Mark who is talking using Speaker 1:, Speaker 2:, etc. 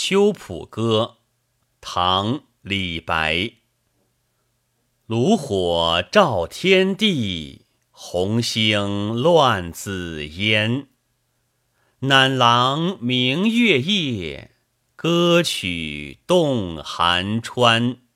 Speaker 1: 秋浦歌，唐·李白。炉火照天地，红星乱紫烟。赧郎明月夜，歌曲动寒川。